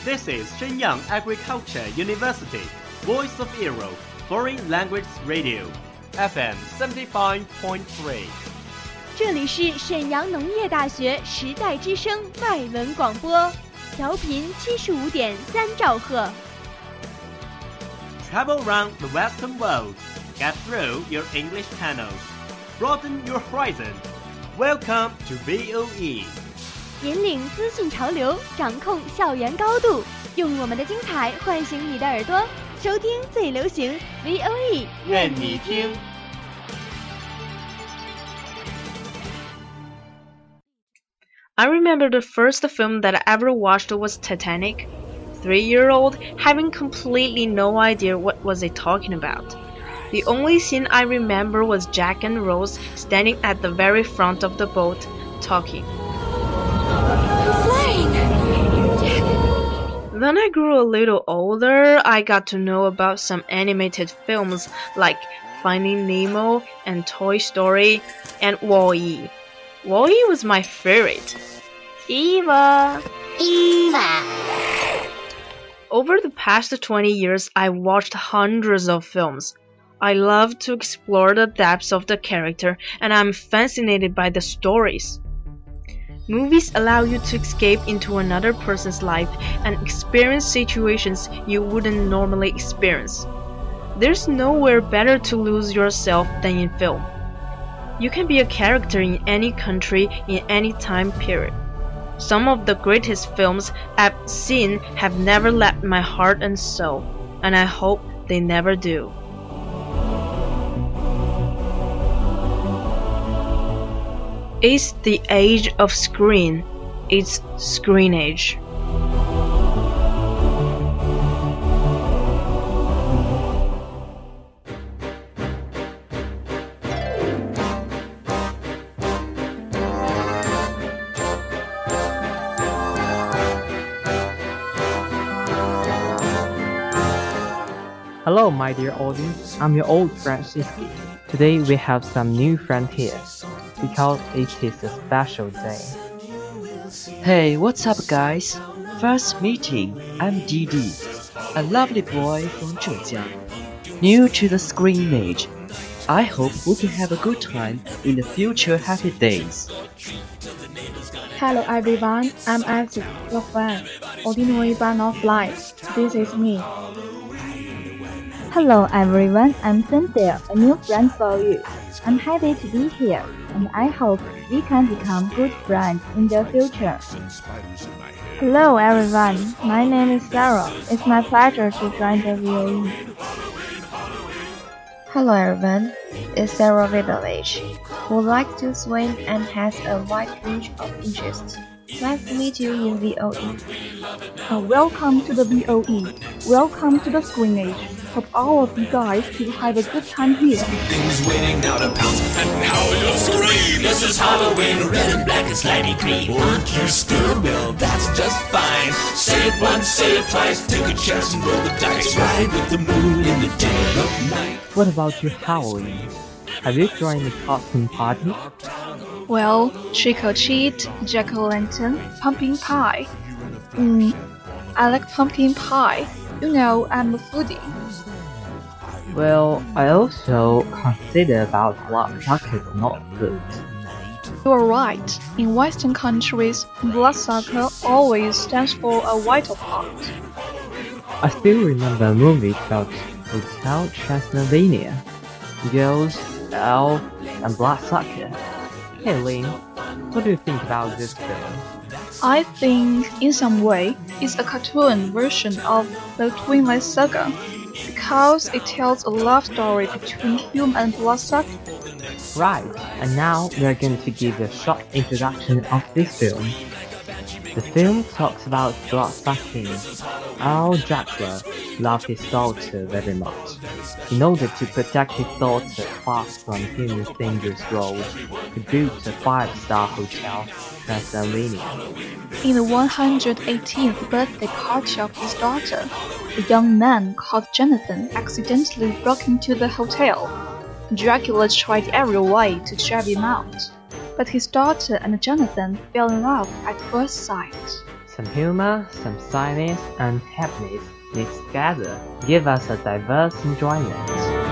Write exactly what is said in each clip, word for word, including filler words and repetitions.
This is Shenyang Agriculture University, Voice of Europe, Foreign Language Radio, F M seventy-five point three. 这里是沈阳农业大学时代之声外文广播，调频七十五点三兆赫。 Travel around the Western world, get through your English channels, broaden your horizon. Welcome to V O E. 引领资讯潮流，掌控校园高度，用我们的精彩唤醒你的耳朵，收听最流行 V O E， 愿你听。 I remember the first film that I ever watched was Titanic. Three-year-old, having completely no idea what was it talking about. The only scene I remember was Jack and Rose standing at the very front of the boat, talking. Flying! Then I grew a little older. I got to know about some animated films like Finding Nemo and Toy Story and Wall-E. Wall-E was my favorite. Eva! Eva! Over the past twenty years, I watched hundreds of films. I love to explore the depths of the character, and I'm fascinated by the stories. Movies allow you to escape into another person's life and experience situations you wouldn't normally experience. There's nowhere better to lose yourself than in film. You can be a character in any country, in any time period. Some of the greatest films I've seen have never left my heart and soul, and I hope they never do. It's the age of screen. It's screen age. Hello, my dear audience. I'm your old friend Siski. Today we have some new friend here because it is a special day. Hey, what's up, guys? First meeting. I'm Didi, a lovely boy from Zhejiang, new to the screen age. I hope we can have a good time in the future happy days. Hello everyone, I'm Isaac, your friend, ordinary but not blind. This is me. Hello everyone, I'm Cynthia, a new friend for you. I'm happy to be here, and I hope we can become good friends in the future. Hello everyone, my name is Sarah. It's my pleasure to join the V O E. Hello everyone, it's Sarah Vidovich, who likes to swim and has a wide range of interests. Nice to meet you in V O E. Uh, welcome to the V O E. Welcome to the screen age. Hope all of you guys will have a good time here. Things waiting now to pounce, and now you'll scream. This is Halloween, red and black and slimy green. Aren't you scared? Well, that's just fine. Say it once, say it twice. Take a chance and roll the dice. Ride with the moon in the dead of night. What about your Halloween? Have you joined the costume party? Well, trick or treat, jack-o'-lantern, pumpkin pie. Mm, I like pumpkin pie. You know, I'm a foodie. Well, I also consider about bloodsucker is not good. You're right. In Western countries, bloodsucker always stands for a vital part. I still remember a movie called Hotel Transylvania. Girls, elf, and bloodsucker. Hey Lin, what do you think about this film? I think, in some way, it's a cartoon version of the Twilight Saga, because it tells a love story between human and bloodsucker. Right, and now we are going to give a short introduction of this film. The film talks about bloodsucking. Our Dracula loved his daughter very much. In order to protect his daughter far from human dangerous road, he built a five-star hotel, Transylvania. In the one hundred eighteenth birthday party of his daughter, a young man called Jonathan accidentally broke into the hotel. Dracula tried every way to drive him out, but his daughter and Jonathan fell in love at first sight. Some humor, some sadness, and happiness mixed together give us a diverse enjoyment.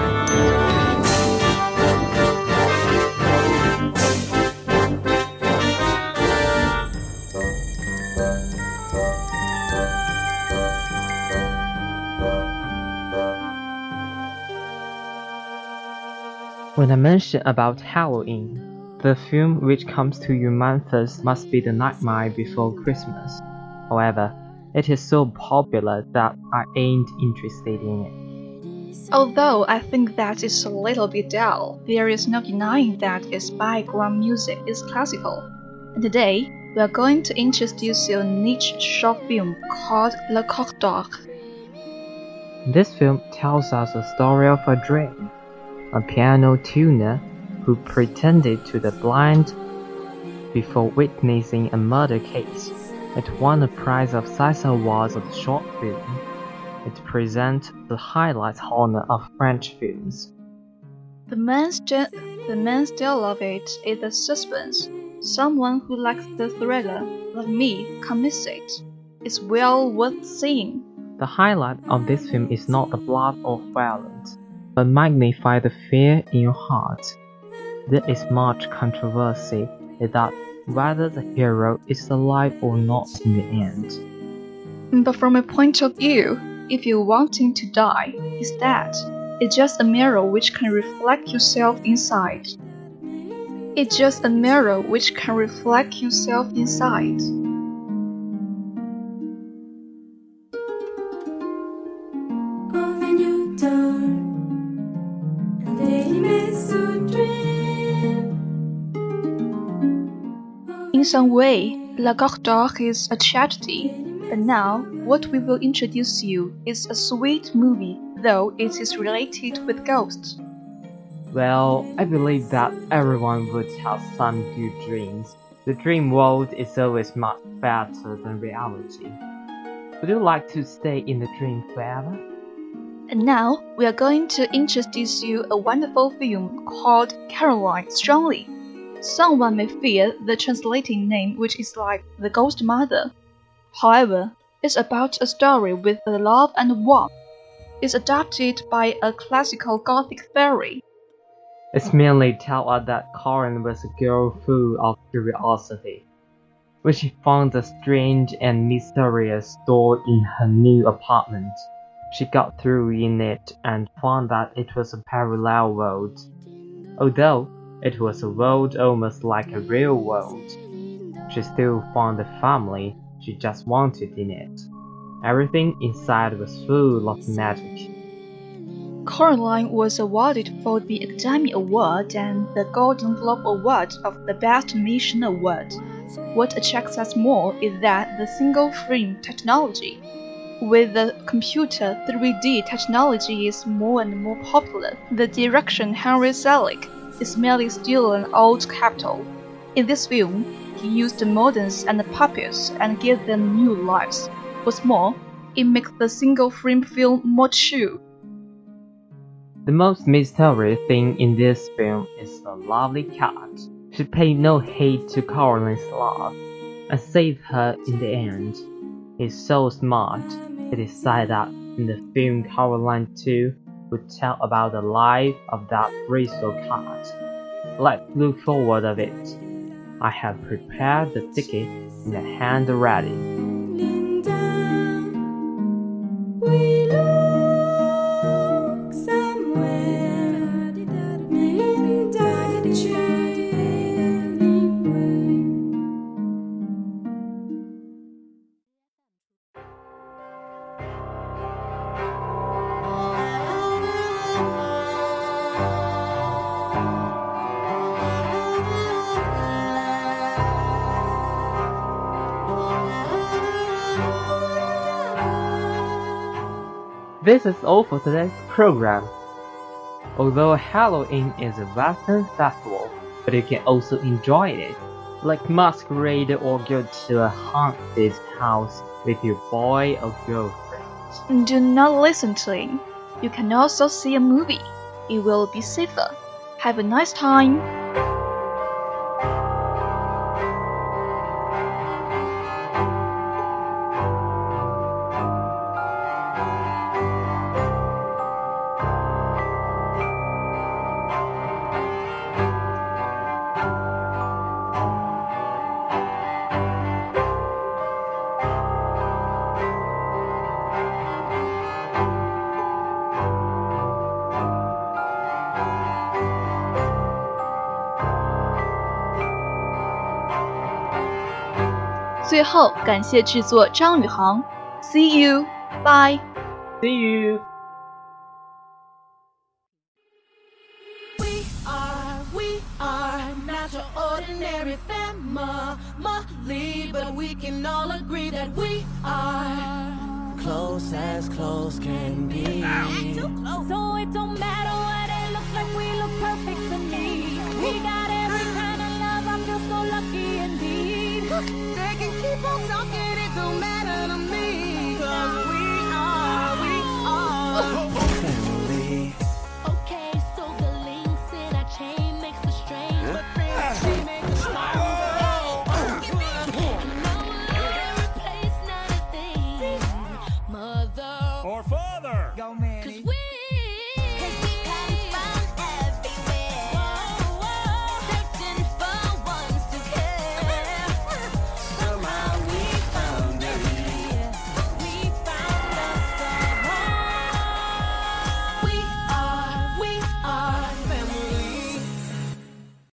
When I mention about Halloween, the film which comes to your mind first must be The Nightmare Before Christmas. However, it is so popular that I ain't interested in it. Although I think that it's a little bit dull, there is no denying that its background music is classical. And today, we are going to introduce you a niche short film called Le Coq d'Or. This film tells us a story of a dream. A piano tuner who pretended to the blind before witnessing a murder case. It won a prize of Seiss Awards of short film. It presents the highlight honor of French films. The main, st- the main style of it is the suspense. Someone who likes the thriller, like me, can miss it. It's well worth seeing. The highlight of this film is not the blood or violence, but magnify the fear in your heart. There is much controversy in that whether the hero is alive or not in the end. But from a point of view, if you want him to die, he's dead. It's just a mirror which can reflect yourself inside. It's just a mirror which can reflect yourself inside. In some way, La Coq d'Or is a tragedy, but now what we will introduce you is a sweet movie, though it is related with ghosts. Well, I believe that everyone would have some good dreams. The dream world is always much better than reality. Would you like to stay in the dream forever? And now we are going to introduce you a wonderful film called Caroline Strongly. Someone may fear the translating name, which is like The Ghost Mother. However, it's about a story with love and warmth. It's adapted by a classical Gothic fairy. It's merely tell us that Corinne was a girl full of curiosity. When she found a strange and mysterious door in her new apartment, she got through in it and found that it was a parallel world. Although it was a world almost like a real world, she still found the family she just wanted in it. Everything inside was full of magic. Coraline was awarded for the Academy Award and the Golden Globe Award of the Best Animation Award. What attracts us more is that the single-frame technology with the computer three D technology is more and more popular. The director Henry Selick is merely still an old capital. In this film, he used the models and the puppets and gave them new lives. What's more, it makes the single-frame film more true. The most mysterious thing in this film is the lovely cat. She paid no heed to Caroline's love and saved her in the end. He's so smart, he decided that in the film Caroline two would tell about the life of that Bristol cat. Let's look forward of it. I have prepared the ticket in the hand already. This is all for today's program. Although Halloween is a Western festival, but you can also enjoy it, like masquerade or go to a haunted house with your boy or girlfriend. Do not listen to him. You can also see a movie. It will be safer. Have a nice time. 最后感谢制作张宇航。See you, bye. See you. We are, we are not your ordinary family, but we can all agree that we are close as close can be. Too close. So it don't matter what it looks like, we look perfect to me. We got every kind of love, I feel so lucky indeed. They can keep on talking, it don't matter to me. Cause we are, we are family. Okay, so the links in our chain makes us strange, but friends they make us strong. Or father. Go, man.